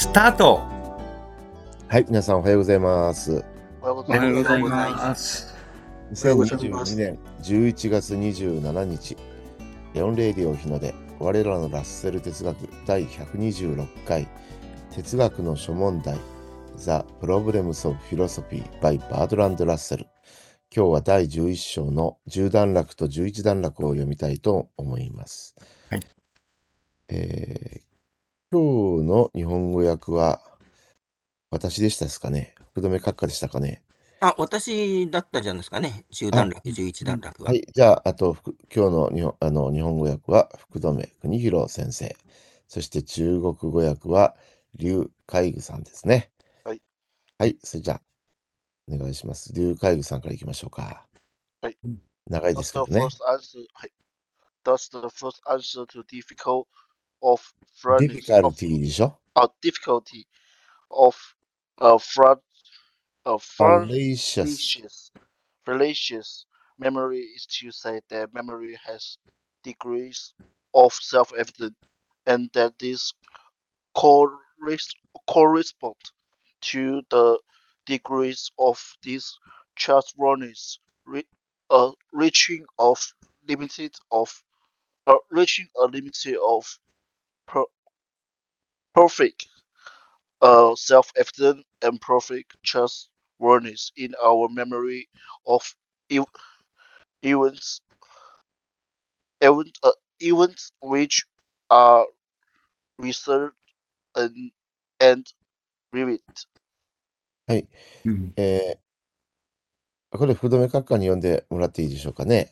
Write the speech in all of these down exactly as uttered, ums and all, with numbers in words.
スタート。 はい、皆さんおはようございます。 おはようごおはようございまます。 にせんにじゅうにねんじゅういちがつにじゅうしちにち、レオンレディオ日の出、我らのラッセル哲学だいひゃくにじゅうろっかい、哲学の諸問題、The Problems of Philosophy by Bertrand Russell。今日はだいじゅういっ章のじゅう段落とじゅういち段落を読みたいと思います。 はい。 えー、今日の日本語訳は私でしたですかね。福留閣下でしたかね。 あ、私だったじゃないですかね。じゅう段落、じゅういち段落は。 はい。じゃあ、あと、今日の日本あの日本語訳は福留邦弘先生。そして中国語訳は劉海愚さんですね。 はい。 はい。それじゃあ、お願いします。劉海愚さんからいきましょうか。 はい。 長いですけど Does the ね。 first answer, はい。Does the first answer to difficult of furnace of difficulty でしょ uh, difficulty of uh, front uh, fallacious fallacious fallacious memory is to say that memory has degrees of self-evident and that this corres- correspond to the degrees of this trustworthiness, re- uh, reaching of limited of uh, reaching a limit of per- perfect uh, self-evident and perfect trustworthiness in our memory of ev- events event, uh, events which are researched and, and vivid. はい。 うんえー、これ、福留閣下に読んでもらっていいでしょうかね。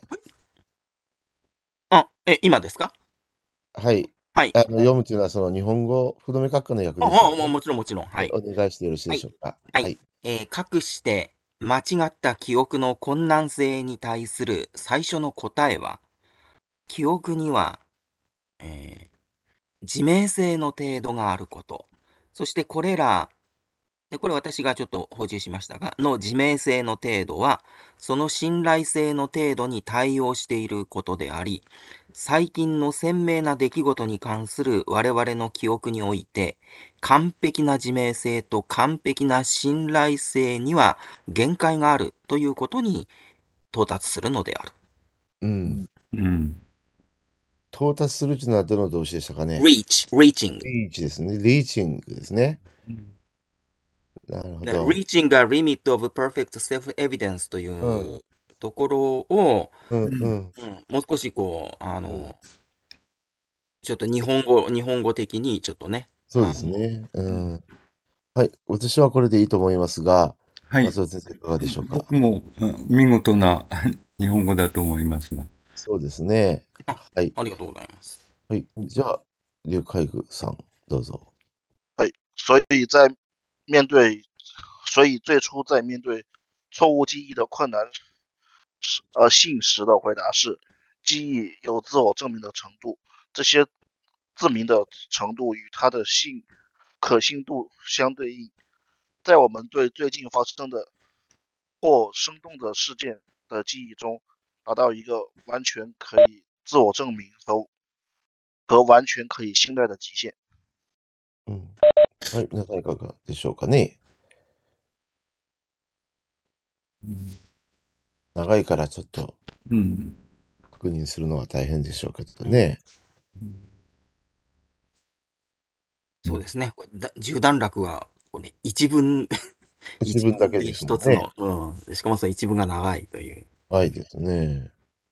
あ、え、今ですか？ はい。 はい。 あの読むというのは、その日本語、福留閣下の訳あ、 ですよあ、もね。 もちろんもちろん。ははいい。 お願いしてよろしいでしょうか。 はいはい。 えー、かくして間違った記憶の困難性に対する最初の答えは、記憶には、えー自明性の程度があること。そしてこれら、でこれ私がちょっと補充しましたが、の自明性の程度は、その信頼性の程度に対応していることであり、最近の鮮明な出来事に関する我々の記憶において、完璧な自明性と完璧な信頼性には限界があるということに到達するのである。 うん。 うん到達するというのはどの動詞でしたかね。 reach, reaching. リーチですね。リーチングですね。 うんなるほ The ど。 reaching a limit of perfect self-evidence といううんところを、 うんうん。 うんもう少しこう、あの、ちょっと日本語、日本語的にちょっとね。 そうですね。うん。はい。私はこれでいいと思いますが、 はい。 松尾先生いかがでしょうか。 僕もうん見事な日本語だと思いますが。 そうですね。はい。 ありがとうございます。 はい。じゃあ、劉海愚さん、どうぞ。 はい，所以在面对，所以最初在面对错误记忆的困难时，呃，信时的回答是，记忆有自我证明的程度，这些自明的程度与它的信可信度相对应。在我们对最近发生的或生动的事件的记忆中，达到一个完全可以自我证明和和完全可以信赖的极限。 うん。はい。皆さんいかがでしょうかね。 うん長いからちょっとうん確認するのは大変でしょうけどね。 そうですね。これだじゅう段落は、これ一文、 一文だけですもんね。 一つの、うん。しかもその一文が長いという。 はいですね。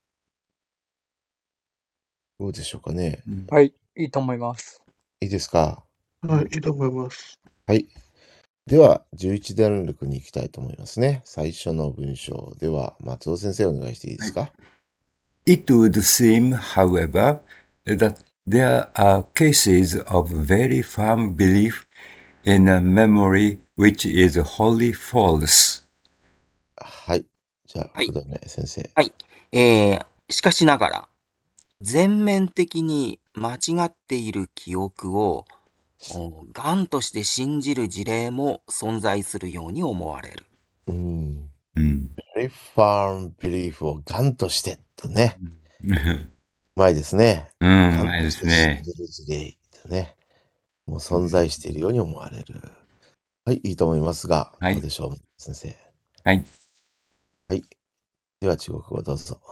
どうでしょうかね。 うんはい、いいと思います。 いいですか。 はい、いいと思います。 はい。では、じゅういち段落に行きたいと思いますね。最初の文章では、松尾先生お願いしていいですか。 It would seem, however, that there are cases of very firm belief in a memory which is wholly false. はい。じゃあ、 はい福留先生。 はい。えー、しかしながら、全面的に間違っている記憶を、うん頑として信じる事例も存在するように思われる。 うん。 うん。 very firm belief をガンとしてとね。 うん、 うまいですね。 うガンまいでとして信すね。 じる事例とね。 もう存在しているように思われる。はい、いいと思いますが、 はいどうでしょう、先生。 はい。 はい。では中国語どうぞ。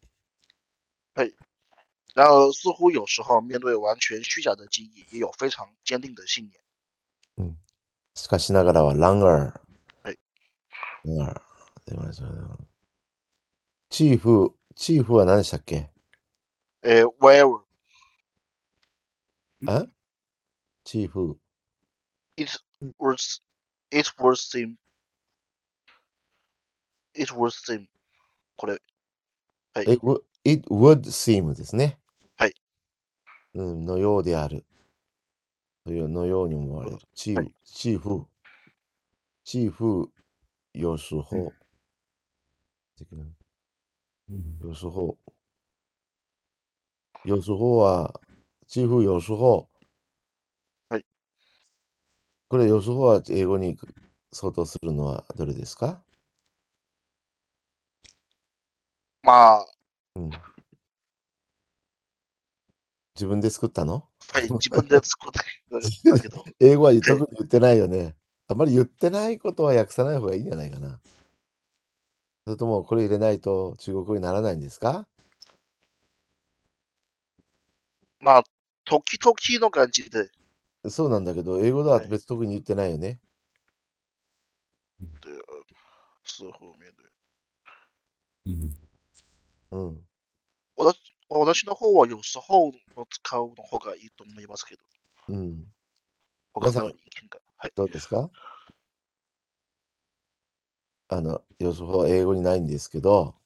然而，似乎有时候面对完全虚假的记忆，也有非常坚定的信念。 うん。しかしながらは、ランガー。 はい。 ランガー。出ましたね。チーフ、チーフは何でしたっけ？ え，wherever あチーフ。 it was, it was seem, it was seem これ、はい。 It would, it would seem ですね。 はい。 うん、のようである。というのように思われる。チーフ、チーフ、チーフ、有时候、有时候、有時候は、チーフ、有時候。 はい。 これ、有時候は英語に相当するのはどれですか？ まあ、 うん。自分で作ったの？ はい、自分で作っただけど。 英語は特に言ってないよね。あまり言ってないことは訳さない方がいいんじゃないかな。それともこれ入れないと中国語にならないんですか？ まあ、時々の感じで、 そうなんだけど、英語でははい。 別特に言ってないよね。 で似乎面对。 うん。 私私の方は有時候の使うの方がいいと思いますけど。 うん。 他の意見が。はい。 どうですか？あの、予想は英語にないんですけど、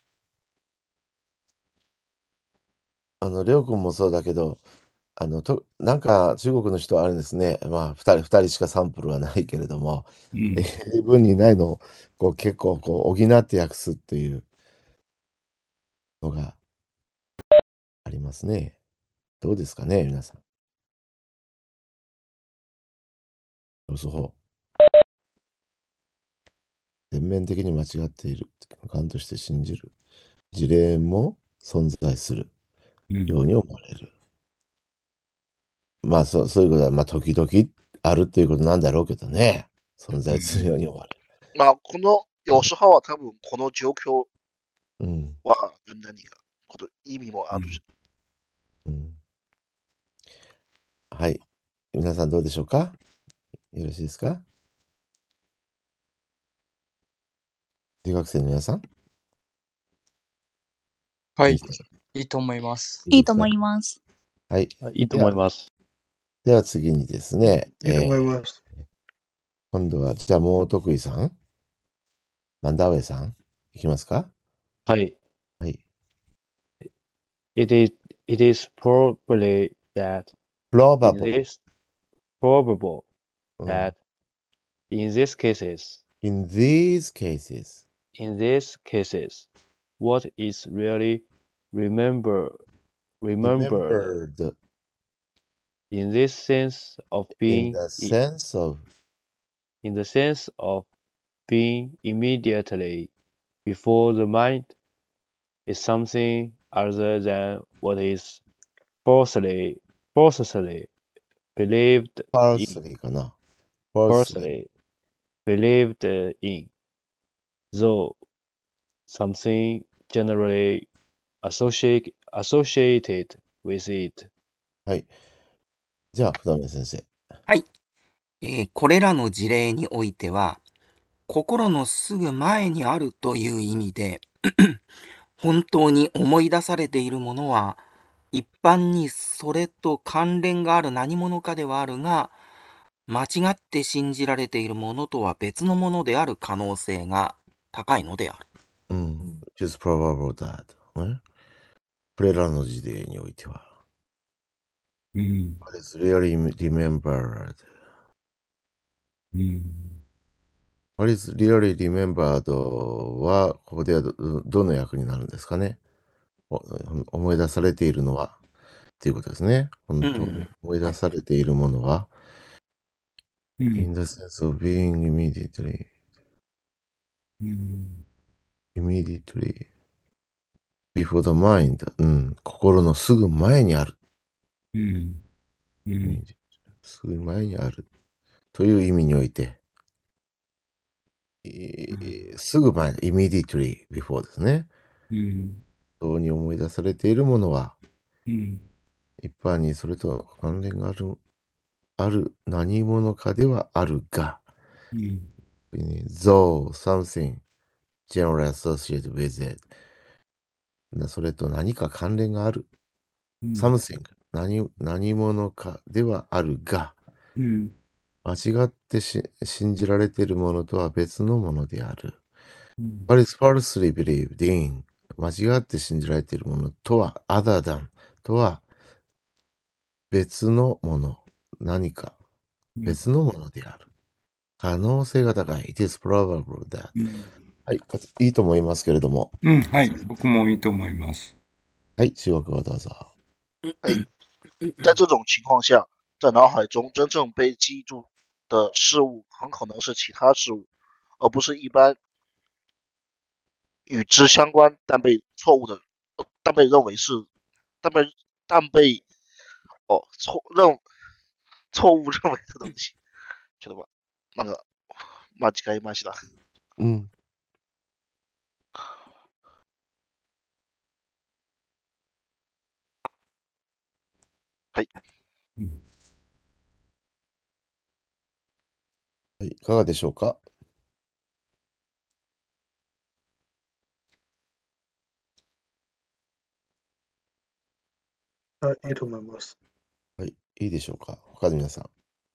あの、りょうくんもそうだけど、あの、となんか中国の人はあれですね、まあ、ふたり、ふたりしかサンプルはないけれども、 うん英文にないのをこう結構こう補って訳すっていうのがありますね。どうですかね、皆さん。予想全面的に間違っている。感として信じる。事例も存在するように思われる。まあそう、そういうことは、まあ時々あるっていうことなんだろうけどね。存在するように思われる。 まあ、この、有時候は多分この状況うん。 は何が、こと意味もあるし。 うん。はい。皆さんどうでしょうか？よろしいですか？留学生の皆さん。 はいいいですか？ いいと思います。 いいですか？ いいと思います。 はい。 いいと思います。 では次にですね、 いいと思いえーます。 今度は、じゃあもう得意さん、マンダーウェイさん、いきますか？ はい。 はい。 It is, it is probably that in probable. this probable うん that in these cases, in these cases, in these cases, what is really remember remembered remembered in this sense of in being the i- sense of in the sense of being immediately before the mind is something other than what is falsely falsely believed in falsely かな。falsely. falsely believed in, though something generally associate, associated with it. はい。じゃあ、福留先生。 えーこれらの事例においては、心のすぐ前にあるという意味で、本当に思い出されているものは、一般にそれと関連がある何者かではあるが、間違って信じられているものとは別のものである可能性が高いのである。 うん。which is probable that. ねこれらの事例においては。 うん。 What is really remembered. うん。 What is really remembered は、ここではどどの役になるんですかね。お思い出されているのは、っていうことですね。本当にうん思い出されているものは、 うん in the sense of being immediately, うん immediately before the mind、うん、心のすぐ前にある。 うんうんすぐ前にあるという意味において、えーすぐ前、immediately before ですね。 うん。 そうに思い出されているものは、 うん。 一般にそれと関連がある、ある何者かではあるが、 うん。 though something generally associated with it。それと何か関連がある。 うん。 something 何、何者かではあるが、 うん。 間違ってし信じられているものとは別のものである。 うん。 What is falsely believed in 間違って信じられているものとは other than とは別のもの、何か別のものである。可能性が高い。It is probable that、 うん。 はい、いいと思いますけれども。 うん、はい。僕もいいと思います。 はい、中国語どうぞ。 在这种情况下，在脑海中真正被记住的事物很可能是其他事物，而不是一般与之相关但被错误的、呃但被认为是、但被但被哦错认错误认为的东西。ちょっとま、なんか間違えました。 うん。 はい。 うんはい、いかがでしょうか。 はい、いいと思います。 はい、いいでしょうか。他の皆さん。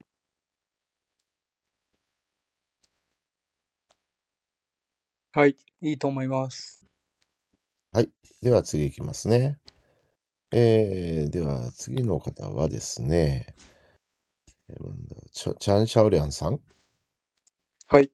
はい、いいと思います。 はい。では次いきますね。えー、では次の方はですね、えーチャチャン・シャオリャンさん。 はい。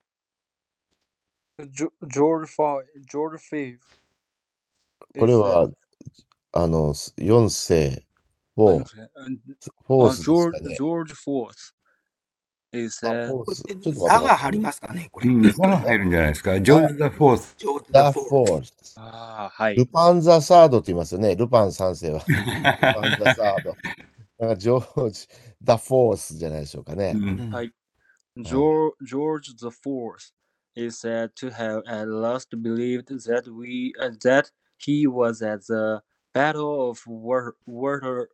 ジョジョージ・ファイ、ジョージ・フィーブ。 これは、あの、よん世あを、フォースジョージ・ですかね。 ジョージ・フォース。is あ that フォース。ちょっと待ってザがください入りますかね、これ。 うん、ザが入るんじゃないですか。ジョージ・ザ・フォース。 ジョージ・ザ・ザ・フフォーォース。 ああ、はい。 ルパン・ザ・サードって言いますよね。ルパン三世は。ルパン・ザ・サード。なんかジョージ・ザ・フォースじゃないでしょうかね。 うんはい。George, George the Fourth is said to have at last believed that we uh, that he was at the Battle of Water, Water,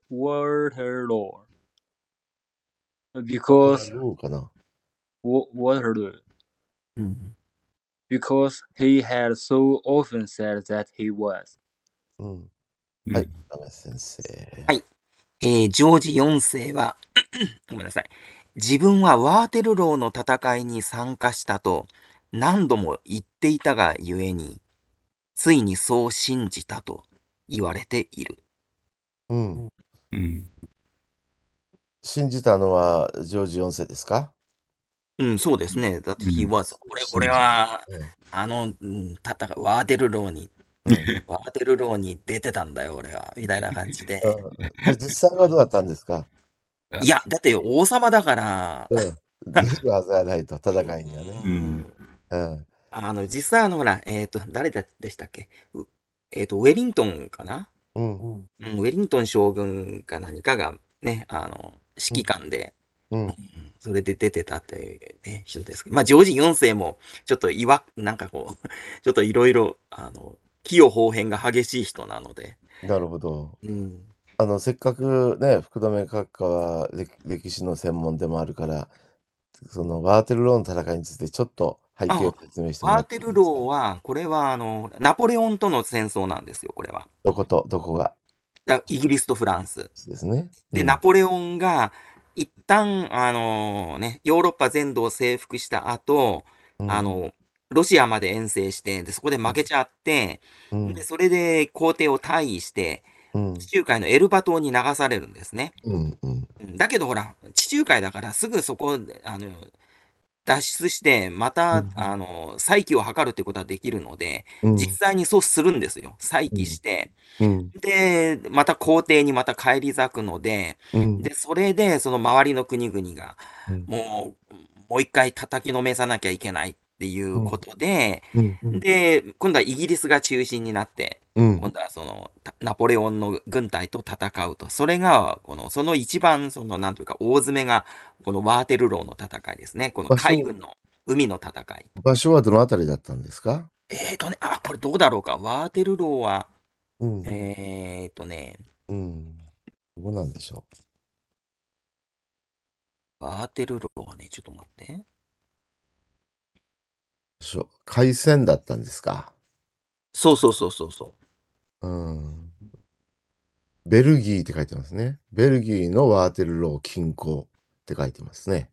Waterloo ワ because タラローかな。 Wa- Waterloo うん。 because he had so often said that he was. うん。 うんはい、ダメ先生。 はいえージョージよん世は、ごめんなさい。自分はワーテルローの戦いに参加したと何度も言っていたがゆえに、ついにそう信じたと言われている。 うん。 うん信じたのはジョージよん世ですか？ うん、そうですね。だって he うん was。これ、 信じこれは、 うんあの、うん戦い、ワーテルローに、 うんワーテルローに出てたんだよ、俺は。みたいな感じで。 うん実際はどうだったんですか？ いや、だって王様だから、 うん。出るはずはないと、戦いにはね。 うんうん。 あの、実際あの、ほら、えっと、誰だでしたっけうえっと、ウェリントンかなうん。 うん、ウェリントン将軍か何かがね、あの、指揮官で、 うん。 うんそれで出てたっていうね、人ですけど、まあ、ジョージよん世も、ちょっといわ、なんかこう、ちょっといろいろ、あの、器用方変が激しい人なので、 なるほど。 うん。 あの、せっかくね、福留閣下は歴歴史の専門でもあるから、そのワーテルローの戦いについてちょっと背景を説明してもらっていいですか？ ワーテルローは、これは、あの、ナポレオンとの戦争なんですよ、これは。 どこと、どこがだイギリスとフランス。 ですね。 で、 うんナポレオンが、一旦、あのね、ヨーロッパ全土を征服した後、 うんあの、ロシアまで遠征して、で、そこで負けちゃって、 うんで、それで皇帝を退位して、 うん地中海のエルバ島に流されるんですね。 うんうんうんだけどほら、地中海だからすぐそこで、あの、脱出して、また、 うんあの、再起を図るってことはできるので、 うん実際にそうするんですよ。再起して、 うんで、また皇帝にまた返り咲くので、 うんで、それで、その周りの国々が、 うんもう、もう一回叩きのめさなきゃいけないっっていうことで、 うん。 で、今度はイギリスが中心になって、 うん。 今度はそのたナポレオンの軍隊と戦うと。それが、この、その一番、その、なんというか、大詰めが、このワーテルローの戦いですね。この場所海軍の海の戦い。 場所はどのあたりだったんですか？ えーとね、あ、これどうだろうか。ワーテルローは、 うん。 えーとね、 うん。どうなんでしょワーテルローはね、ちょっと待って。 う。しょ海戦だったんですか？ そうそうそうそうそう。 うん。ベルギーって書いてますね。ベルギーのワーテルロー近郊って書いてますね。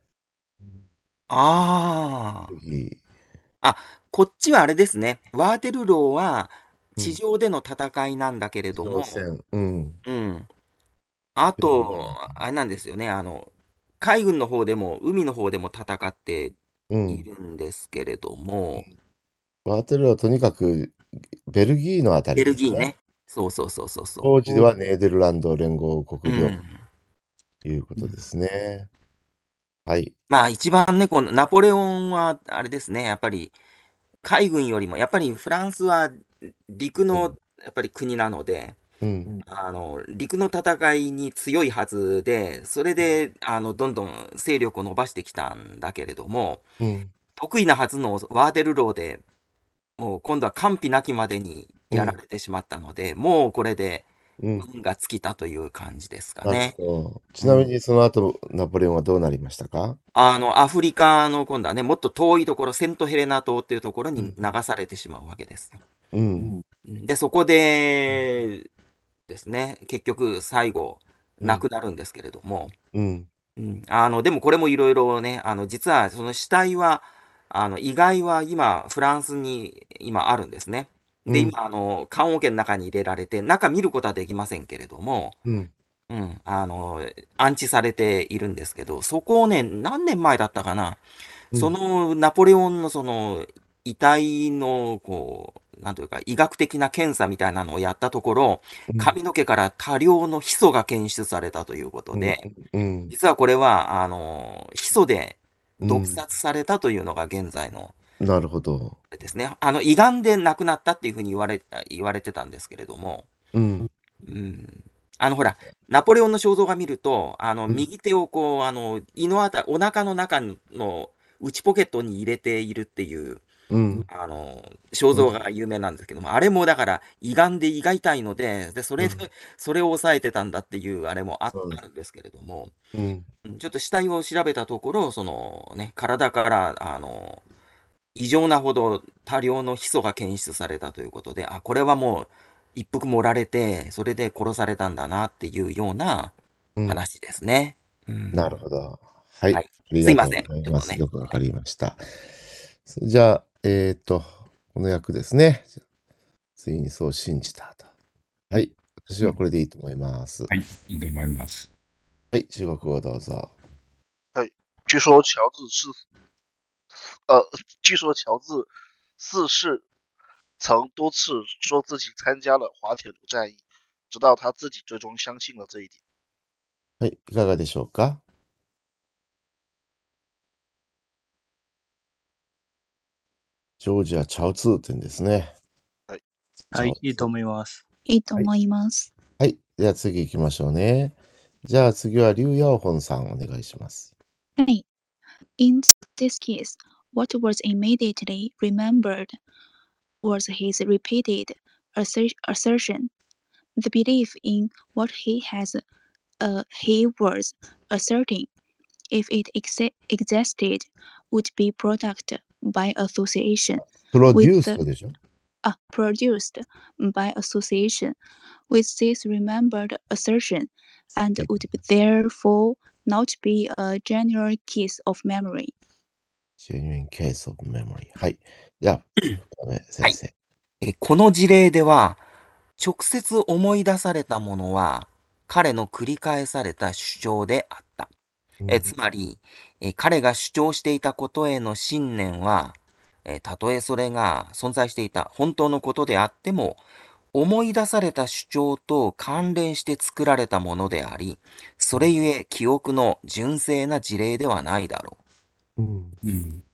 あベルギー。 あ。あ、こっちはあれですね。ワーテルローはうん。 地上での戦いなんだけれ地ども、 上戦。うん。 うん。あベルギーと、あれなんですよね。あの、海軍の方でも海の方でも戦ってうん。 いるんですけれども、 ワーテルローはとにかくベルギーのあたりベルですね。 ギーね。そうそうそうそうそ当時ではネーデルランド連合う。う国領ん。 ということですね。はい。 まあ一番ね、このナポレオンはあれですね。やっぱり海軍よりも、やっぱりフランスは陸のやっぱり国なので、 うん。 あの、陸の戦いに強いはずで、それで、あの、どんどん勢力を伸ばしてきたんだけれども、 うん。 得意なはずのワーテルローでもう今度は完膚なきまでにやらうん。 れてしまったので、もうこれでうん。 運が尽きたという感じですかなるね。 ほど。ちうなみん。 にその後、ナポレオンはどうなりましたか？ あの、アフリカの今度はね、もっと遠いところ、セントヘレナ島っていうところにうん。 流されてしまうわけですよ。 うん。 うんで、そこでですね、結局最後亡うん。 くなるんですけれども、 うん。 うん、あの、でもこれもいろいろね、あの、実はその死体は、あの、遺骸は今、フランスに今あるんですね。で、 うん。 今、あの、棺桶の中に入れられて、中見ることはできませんけれども、 うん。 うん、あの、安置されているんですけど、そこをね、何年前だったかな、そうん。 のナポレオンのその遺体の、こう、なんというか、医学的な検査みたいなのをやったところ、 うん。 髪の毛から多量のヒ素が検出されたということうん。 で、 うん。 実はこれは、あの、ヒ素で毒うん。 殺されたというのが現在の、 なるほど。 あれですね。あの、胃がんで亡くなったっていうふうに言われ言われてたんですけれども、 うん。 うん。あの、ほら、ナポレオンの肖像画見ると、あの、 うん。 右手をこう、あの、胃のあたお腹の中の内ポケットに入れているっていう、 うん。 あの、肖うん。 像画が有名なんですけども、あれもだから胃がんで胃が痛いので、で、それうん。 で、それを抑えてたんだっていうあれもあそうあるんですけれども、 うん。 うん、ちょっと死体を調べたところ、そのね、体から、あの、異常なほど多量のヒ素が検出されたということで、あ、これはもう一服盛られて、それで殺されたんだなっていうようなうん。 話ですね。うなるん。 ほど。は。 はいい。 ありがとうすいません。 ございます。 ちょっとね。 よくわかりました。それじゃあ、えっと、この役ですね。ついにそう信じたと。はい。私はこれでいいと思います。 はい、いいと思います。 はい、中国語どうぞ。 哎，据说乔治是，呃，据说乔治四世曾多次说自己参加了滑铁卢战役，直到他自己最终相信了这一点。 はい、いかがでしょうか？ジョージア・チャオツー店ですね。 はい。 はい、いいとチャオツー。 思います。 いいと思います。 はい。では次行きましょうね。じゃあ次はリュウ・ヤオホンさんお願いします。 はい。In this case, what was immediately remembered was his repeated asser- assertion. The belief in what he has, uh, he was asserting, if it ex- existed, would be product by association プロデュー with ス the でしょ uh, produced by association with this remembered assertion, and would therefore not be a general case of memory. Genuine case of memory. はい。じゃあ、先生。 えこの事例では、直接思い出されたものは、彼の繰り返された主張であった。えつまりえ、彼が主張していたことへの信念は、えたとえそれが存在していた本当のことであっても、思い出された主張と関連して作られたものであり、それゆえ記憶の純正な事例ではないだろうん。 うん。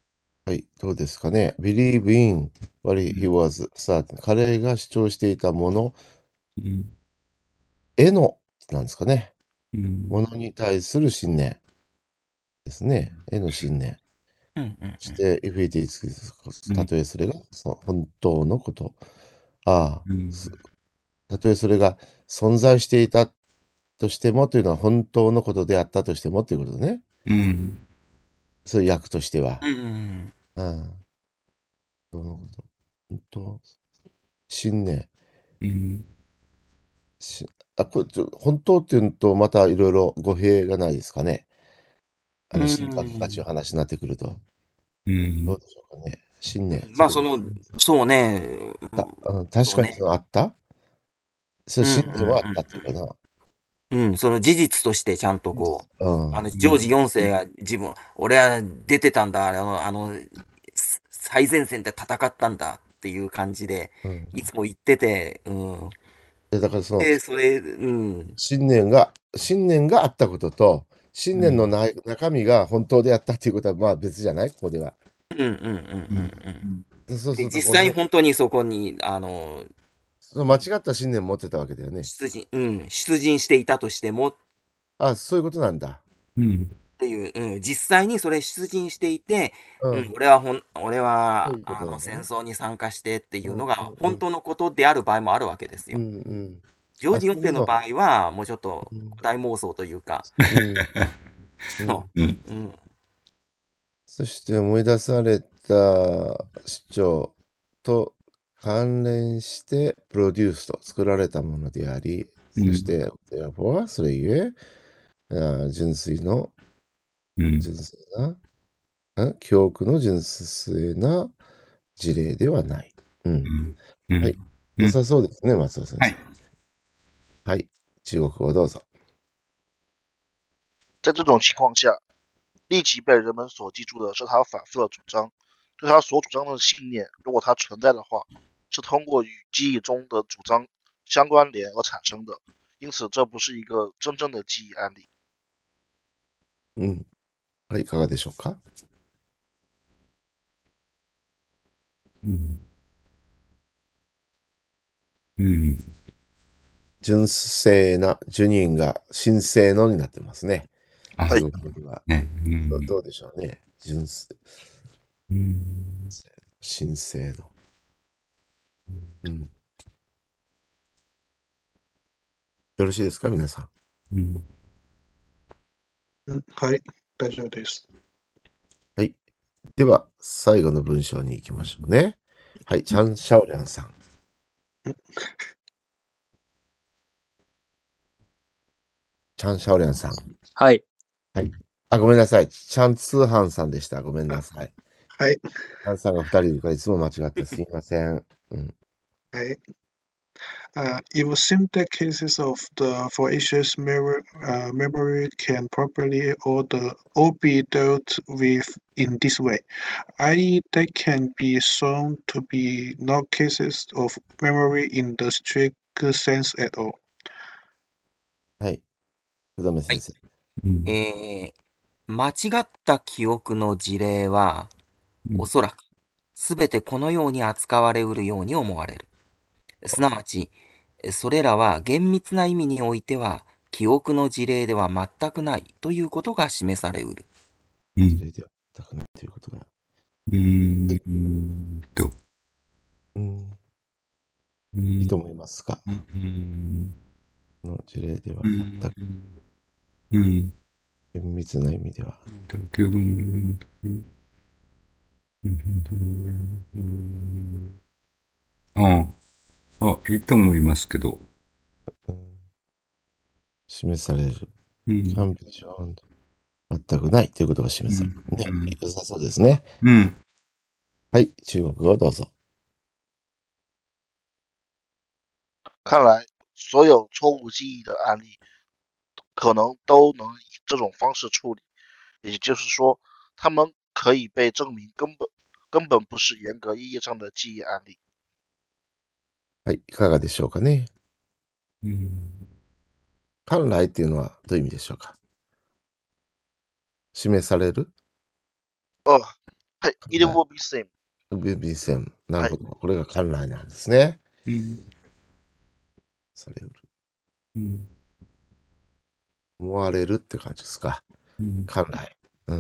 はい、どうですかね。believe in what he was certain。彼が主張していたものうんへの、なんですかね。 うんものに対する信念ですね。への信念。 うんうんそして、if it is、 うんたとえそれがそ本当のこと。ああ、 うんすたとえそれが存在していたとしてもというのは本当のことであったとしてもということね。 うんそういう訳としては。 うんうんうん。本当のこと。本当。信念。 うんしあ、これちょ、本当っていうのと、またいろいろ語弊がないですかね。あの、 うん信格価値の話になってくると。 うんどうでしょうかね。信念。 まあ、その、そうね。 たうん、確かにそのあったそう、 うん信念はあったっていうかな。 うん、その事実としてちゃんとこう、 うん。 あの、ジョージよん世が自分、俺は出てたんだ、あの、あの、す最前線で戦ったんだっていう感じで、 うん。 いつも言ってて、うん。 で、だからその、 で、それ、うん。 信念が、信念があったことと、信念のな中身が本当であったっていうことは、まあ別じゃないここでは。 うんうんうんうんうん。 そうすると、 で実これね、 際本当にそこに、あの、 その間違った信念を持ってたわけだよね。 出陣、うん、出陣していたとしてもっあ、そういうことなんだ。 うんていう、うん、実際にそれ出陣していて、 う。 うんん、俺はほん、俺そうはいうことあのなんだね戦争に参加してっていうのうんが本当のことである場合もあるわけですよ。 うんうん。 ジョージよんあそういうの世の場合は、もうちょっとうん大妄想というか、 うんうんそううんうん、 そして思い出された主張と関連してプロデュースと作られたものであり、 うんそして、therefore それゆえ、あ純粋の、 うん純粋な、ん記憶の純粋な事例ではない。うん。 うんはい。良さそうですね、松尾先生。 はい。 はい。中国語どうぞ。 在这种情况下，立即被人们所记住的是他反复的主张。对他所主张的信念，如果它存在的话，是通过与记忆中的主张相关联而产生的，因此这不是一个真正的记忆案例。 うん。はい、いかがでしょうか。 うんうん純正な、ジュニンが神聖のになってますね。 あ、 はい中国語では。 ね。うんどどうでしょうね。純粋、 うん神聖の。うん。よろしいですか、皆さん。 うんうんはい、大丈夫です。 はい。では、最後の文章に行きましょうね。はい、チャン・シャオリャンさん。チャン・シャオリャンさん。 はい。 あ、ごめんなさい。チャン・ツーハンさんでした。ごめんなさい。 はい、 チャンさんがふたりいるからいつも間違ってすいません。うん。 はい。Uh, it would seem that cases of the voyage's memory, uh, memory can properly or, the, or be dealt with in this way. that is, they can be shown to be not cases of memory in the strict sense at all. はい。福留先生。 うんえー間違った記憶の事例は、 うんおそらく、すべてこのように扱われうるように思われる。すなわち、それらは厳密な意味においては、記憶の事例では全くないということが示されうる。 うんそれでは、たくなということが。 うんうんとうん。 うんいいと思いますか。 うんこの事例ではうん全くうん厳密な意味では。 うんうんうんああ、いいと思いますけど。 うん示される。 うん完璧じゃ全くないということが示される。ねうん。 良さそうですね。 うんはい。中国語どうぞ。 看来，所有错误记忆的案例可能都能以这种方式处理，也就是说，他们可以被证明根本根本不是严格意义上的记忆案例。 はい。いかがでしょうかね。 うん本来っていうのはどういう意味でしょうか。示される呃， はい。it will be same. will be same。なるほど。これが観来なんですね。 うん。 される。 うん。 思われるって感じですか。 うん。 観来。うん。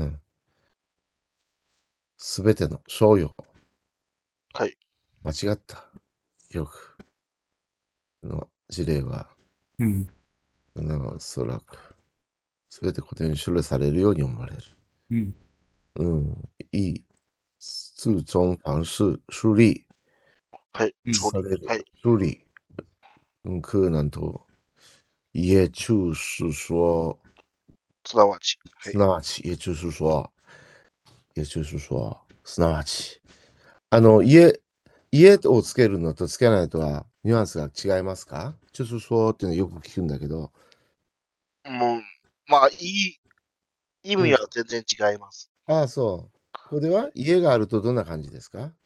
すべての商用。 はい。 間違った。よく。の事例は、 うん。 おそらく、すべて固定に処理されるように思われる。 うん。 うん。いい。自中方式处理はい。 うん处理。 される。 はい。 处理。很可能と、也就是说、 すなわち。はいす。なわち、也就是说、也就是说、すなわち。あの、家、家をつけるのとつけないとはニュアンスが違いますか？就是说っていうのよく聞くんだけど。 もう、まあ、いい、意味は全然違います。 ああ、そう。これは家があるとどんな感じですか？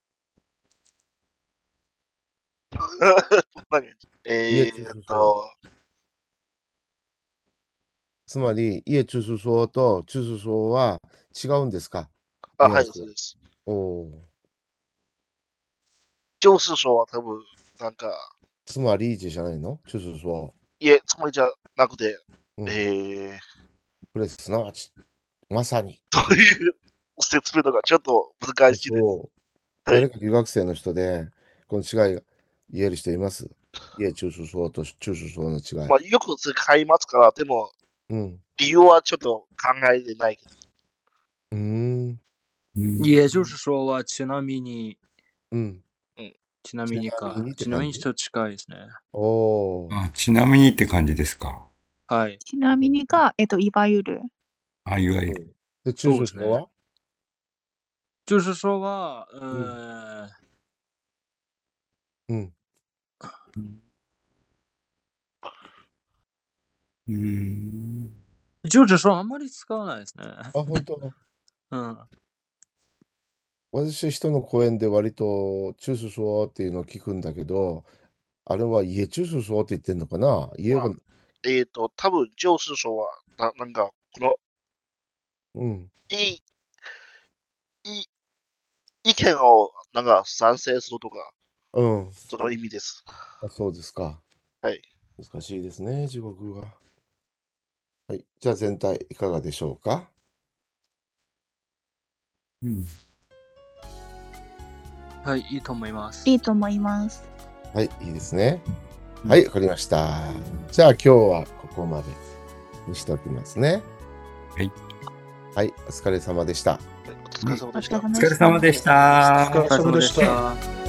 何え家ーっ中枢と、 つまり、家中枢層と中枢層は違うんですか？ あ、はい、 ニュアンスがそうです。 おお。 就是说、多分、なんか、 つまりじゃないの？中枢層。 いえ、つもりじゃなくて、 うん、 えー、 これすなわち、まさに。 という説明とかちょっと難しいです。 そう。誰か留学生の人で、この違いが言える人います？家中枢層と中枢層の違い。 まあ、よく使いますから、でも、 うん。 理由はちょっと考えてないけど。 うーん。 うん。 也就是说はちなみに、 うん。 ちなみにかちなみにっ。てちなみ感じにと近いですね。 おお。 あ、ちなみにって感じですか。 はい。 ちなみにが、えっと、いわゆる。 あ、いわゆる。 で、中枢層は？ 就是说は、うーん、 うん。 うん。 就是说あんまり使わないですね。 あ、本当。 うん。 私、人の講演で割と中枢層っていうのを聞くんだけど、あれは家中枢層って言ってんのかな？家が、 えっと、多分、就是说は、ななんか、この、 うん。 いい、いい、意見をなんか賛成するとか、 うん。 その意味です。 あ、そうですか。 はい。 難しいですね、地獄が。はい。じゃあ全体いかがでしょうか？ うん。 はい、いいと思います。 いいと思います。 はい、いいですね。はい、わかりました。じゃあ今日はここまでにしておきますね。 はい。 はい、お疲れ様でした。 お疲れ様でした。 お疲れ様でした。 お疲れ様でした。 た。